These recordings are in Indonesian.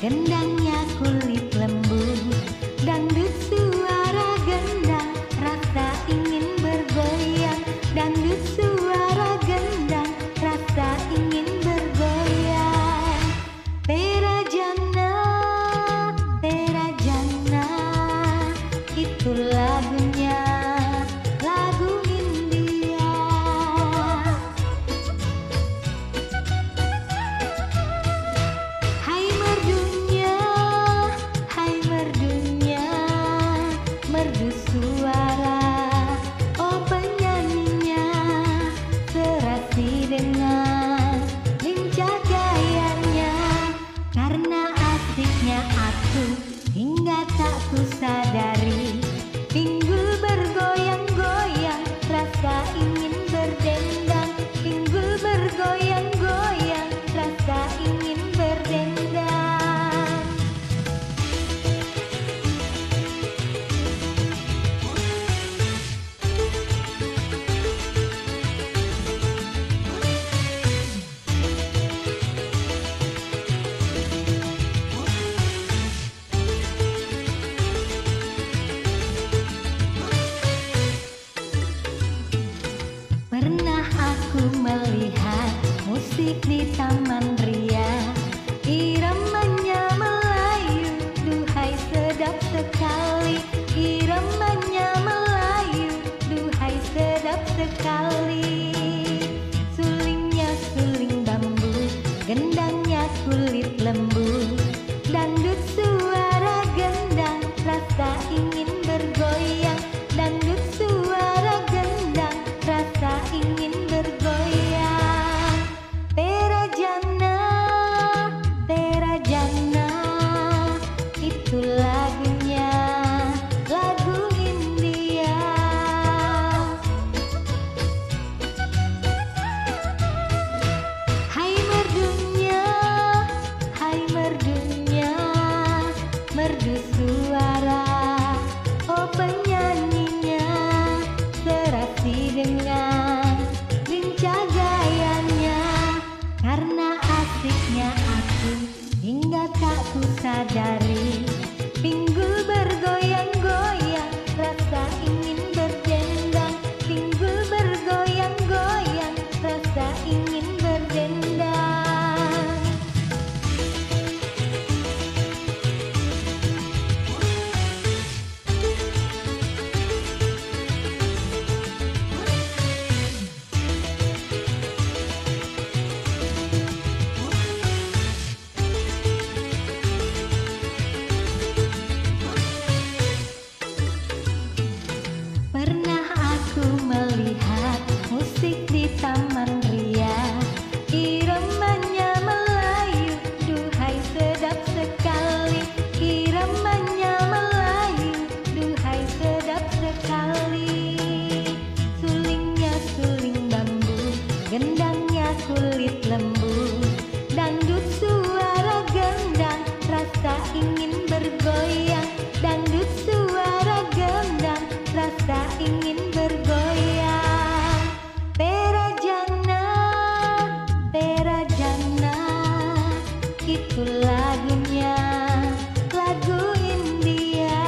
gendangnya kulit lembu. Dangdut suara gendang, rasa ingin bergoyang. Dangdut suara gendang, rasa ingin bergoyang. Tera Jana, itu lagunya, lagu India. Hai merdunya, merdu suara, oh penyanyinya, serasi dengan lincah gayanya. Karena asiknya aku hingga tak kusadari, pinggul bergoyang-goyang, rasa ingin berdendang. Pinggul bergoyang-goyang, rasa ingin berdendang. Pernah aku melihat musik di Taman Ria, iramanya Melayu, duhai sedap sekali. Iramanya Melayu, duhai sedap sekali. Sulingnya suling bambu, gendangnya kulit lembu. Dangdut suara gendang, rasa ingin bergoyang. Dangdut suara gendang, rasa ingin bergoyang. Tera Jana, itu lagunya, lagu India. Hai merdunya, merdu suara, oh penyanyinya, serasi dengan lincah gayanya. Karena asiknya aku hingga tak kusadari, pinggul bergoyang-goyang, rasa ingin berdendang. Pinggul bergoyang-goyang, rasa ingin berdendang. Pernah aku melihat musik di Taman Ria, iramanya Melayu, duhai sedap sekali. Iramanya Melayu, duhai sedap sekali. Sulingnya suling bambu, gendangnya kulit lembu. Dangdut suara gendang, rasa ingin bergoyang. Dangdut suara gendang, rasa ingin bergoyang. Tera Jana, itu lagunya, lagu India.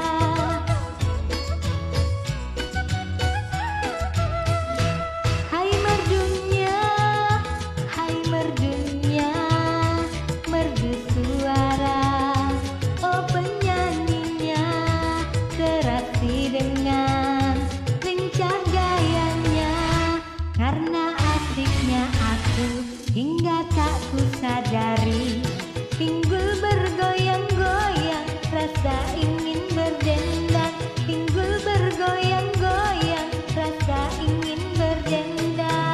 Hai merdunya, merdu suara, oh penyanyinya, serasi dengan lincah gayanya. Karena asiknya aku hingga tak kusadari, pinggul bergoyang-goyang, rasa ingin berdendang. Pinggul bergoyang-goyang, rasa ingin berdendang.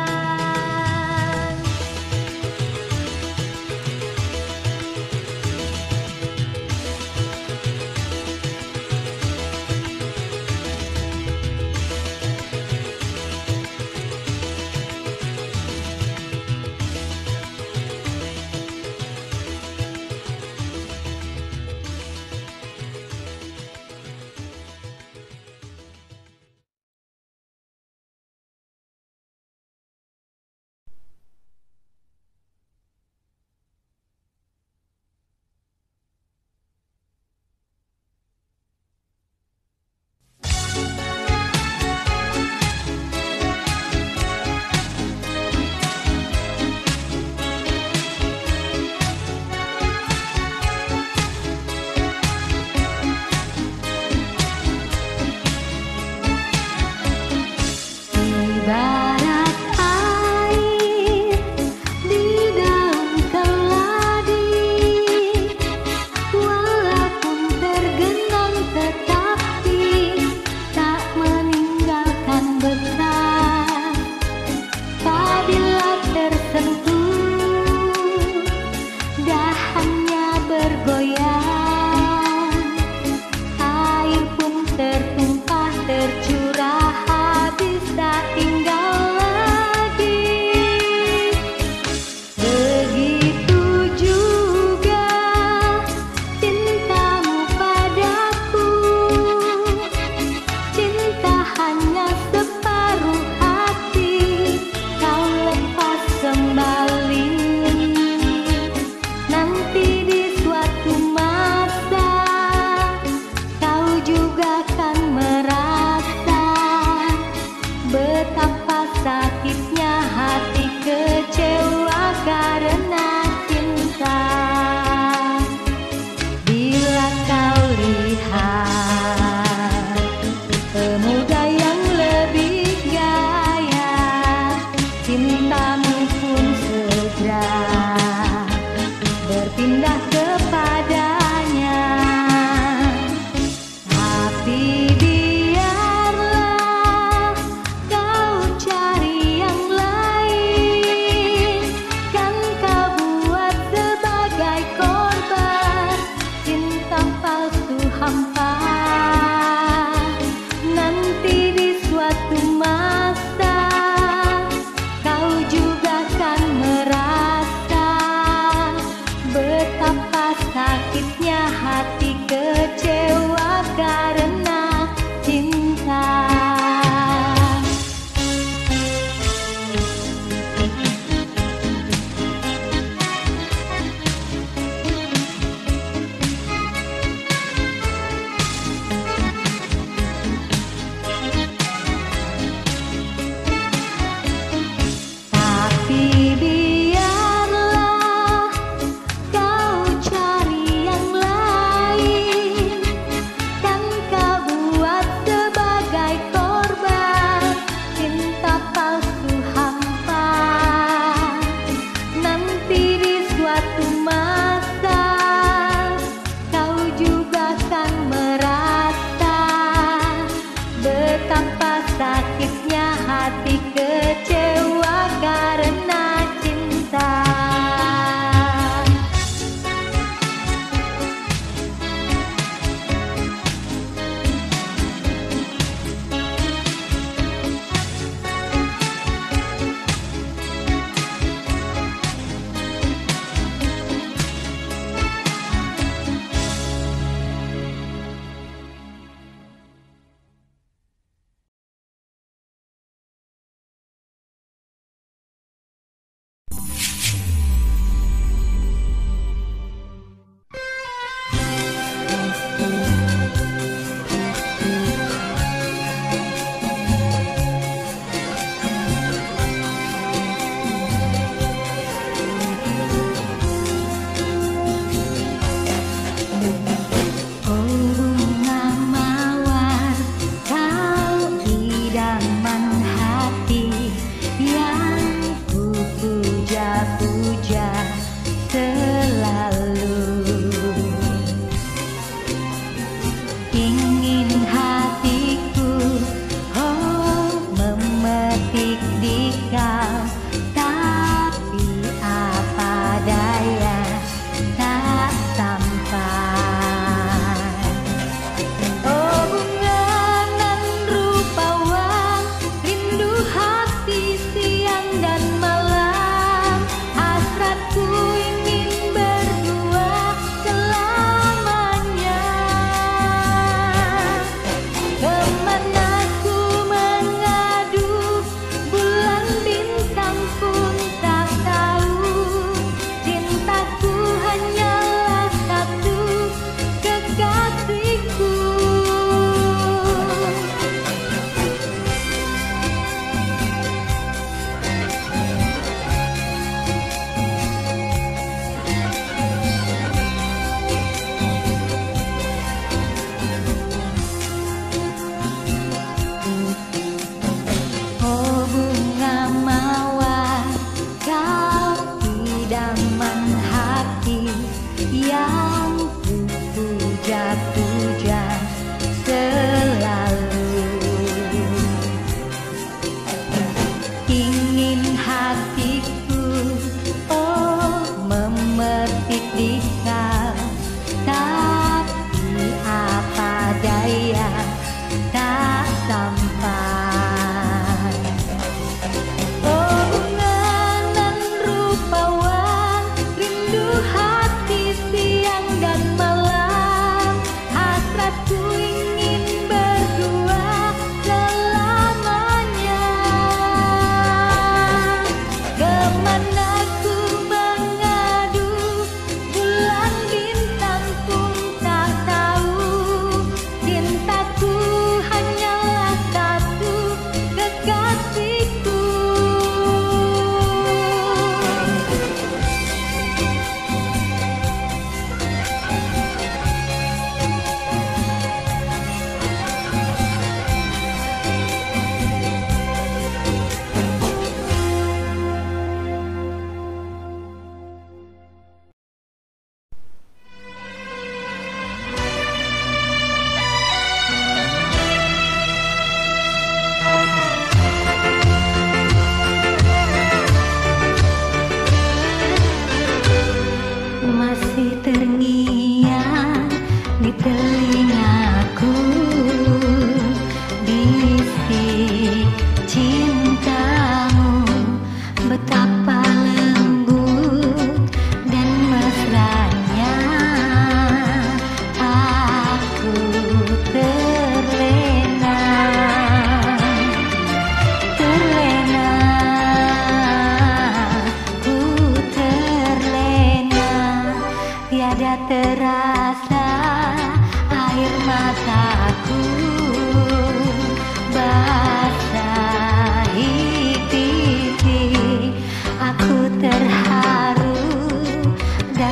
dikau, tapi apa daya tak sampai. Oh bunganan rupawan, rindu hati siang dan malam, hasratku ingin berdua selamanya. Kemana ku mengadu, bulan bintang pun tak tahu. Cintaku hanyalah satu, kekasihku. Masih terngiang di telingaku bisik cintamu, betapa lembut dan mesranya. Aku terlena, terlena, ku terlena. Tiada terasa air mataku basahi pipi. Aku terharu dan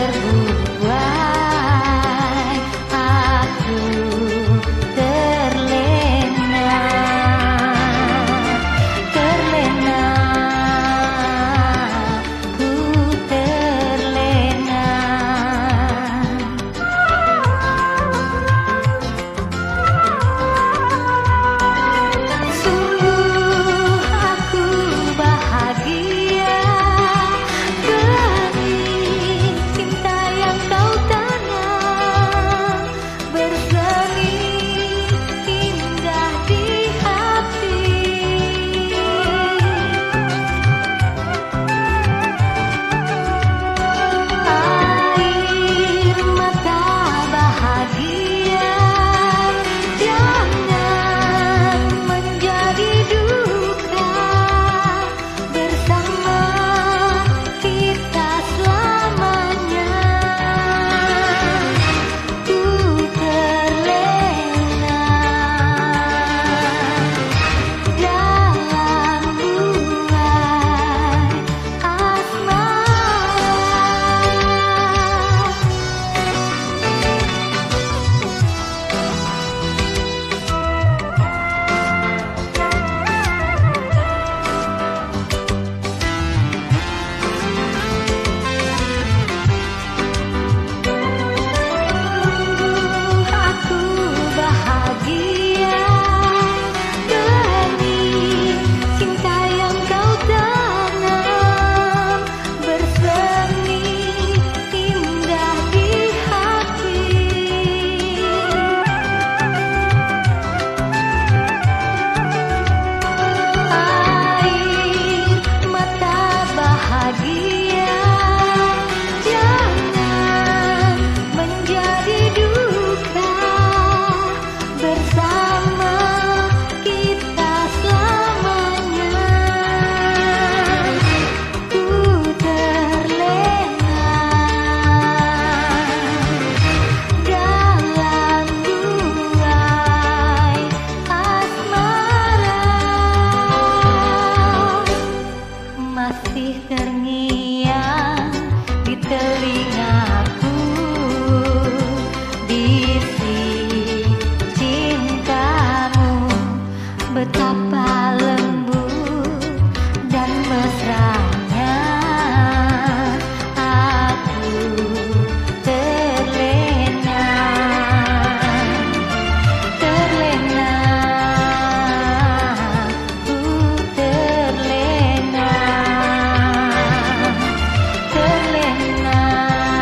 terbuai. Aku terlena, terlena, ku terlena. Sungguh aku bahagia demi cinta yang kau tanam, bersemi indah di hati. Air mata bahagia jangan menjadi duka, bersama kita selamanya. Ku terlena dalam buai asmara. Aku bahagia demi cinta yang kau tanam, bersemi indah di hati. Air mata bahagia jangan menjadi duka, bersama kita selamanya. Ku terlena dalam buai asmara. Masih terngiang di telingaku bisik cintamu, betapa lembut dan mesranya. Aku terlena, terlena, ku terlena, terlena.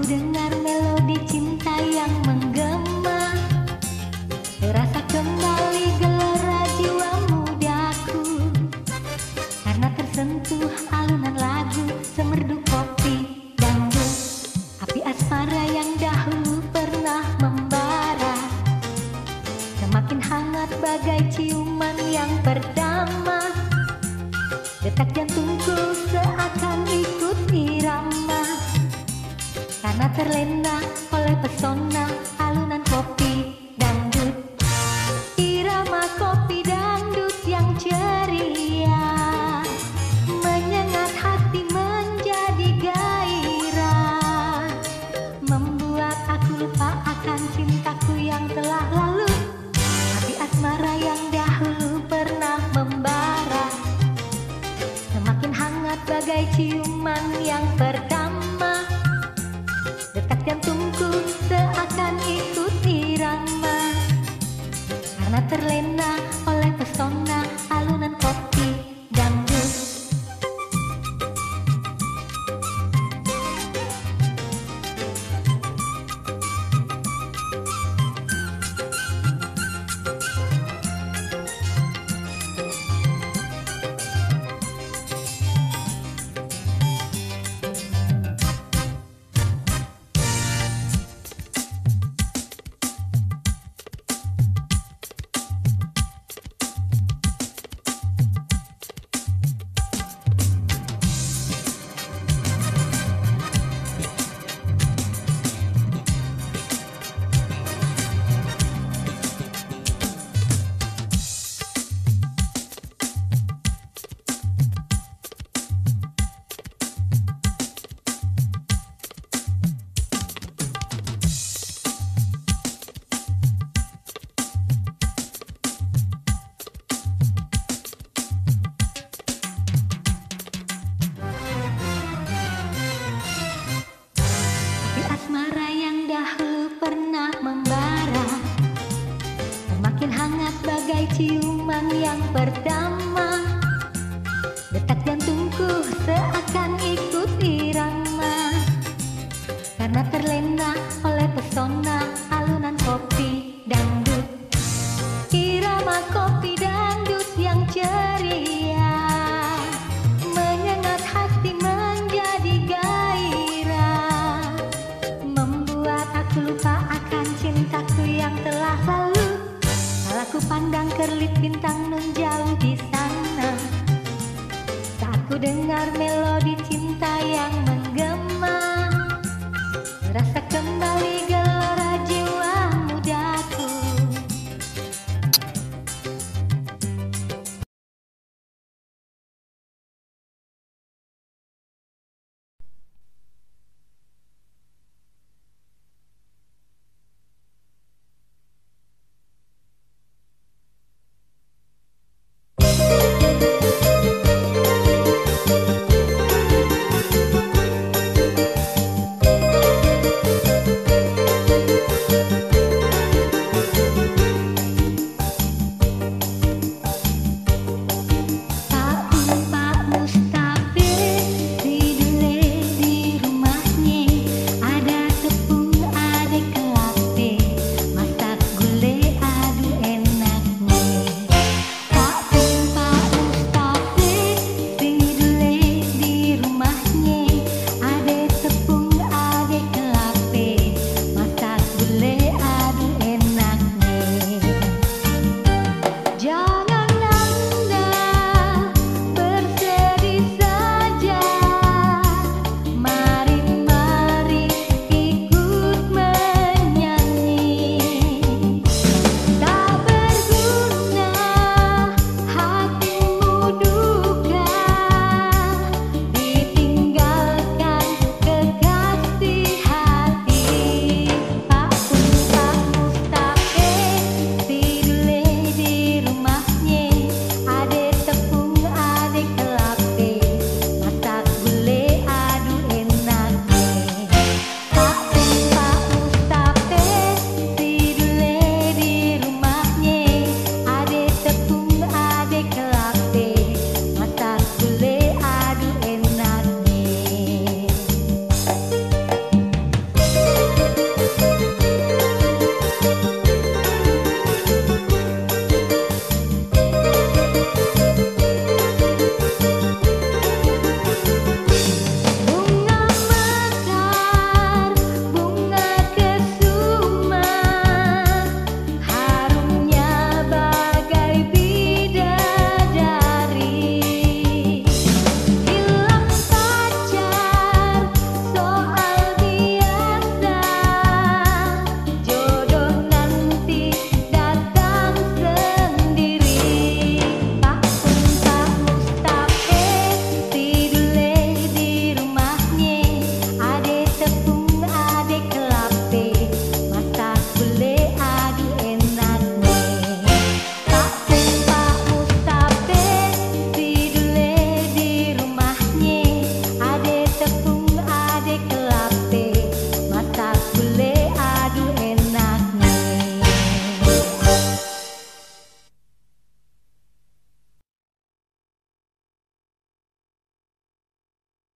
dengar melodi cinta yang menggema, terasa kembali gelora jiwa mudaku, karena tersentuh alunan lagu semerdu kopi dangdut. Api asmara yang dahulu pernah membara, semakin hangat bagai ciuman yang pertama. Detak jantungku seakan ikut irama, karena terlena oleh pesona alunan kopi dangdut. Irama kopi dangdut yang ceria menyengat hati menjadi gairah, membuat aku lupa akan cintaku yang telah lalu. Api asmara yang dahulu pernah membara, semakin hangat bagai ciuman yang pertama. Detak jantungku seakan ikut irama, karena terlena oleh pesona alunan kopi dangdut. Asmara yang dahulu pernah membara, semakin hangat bagai ciuman yang pertama.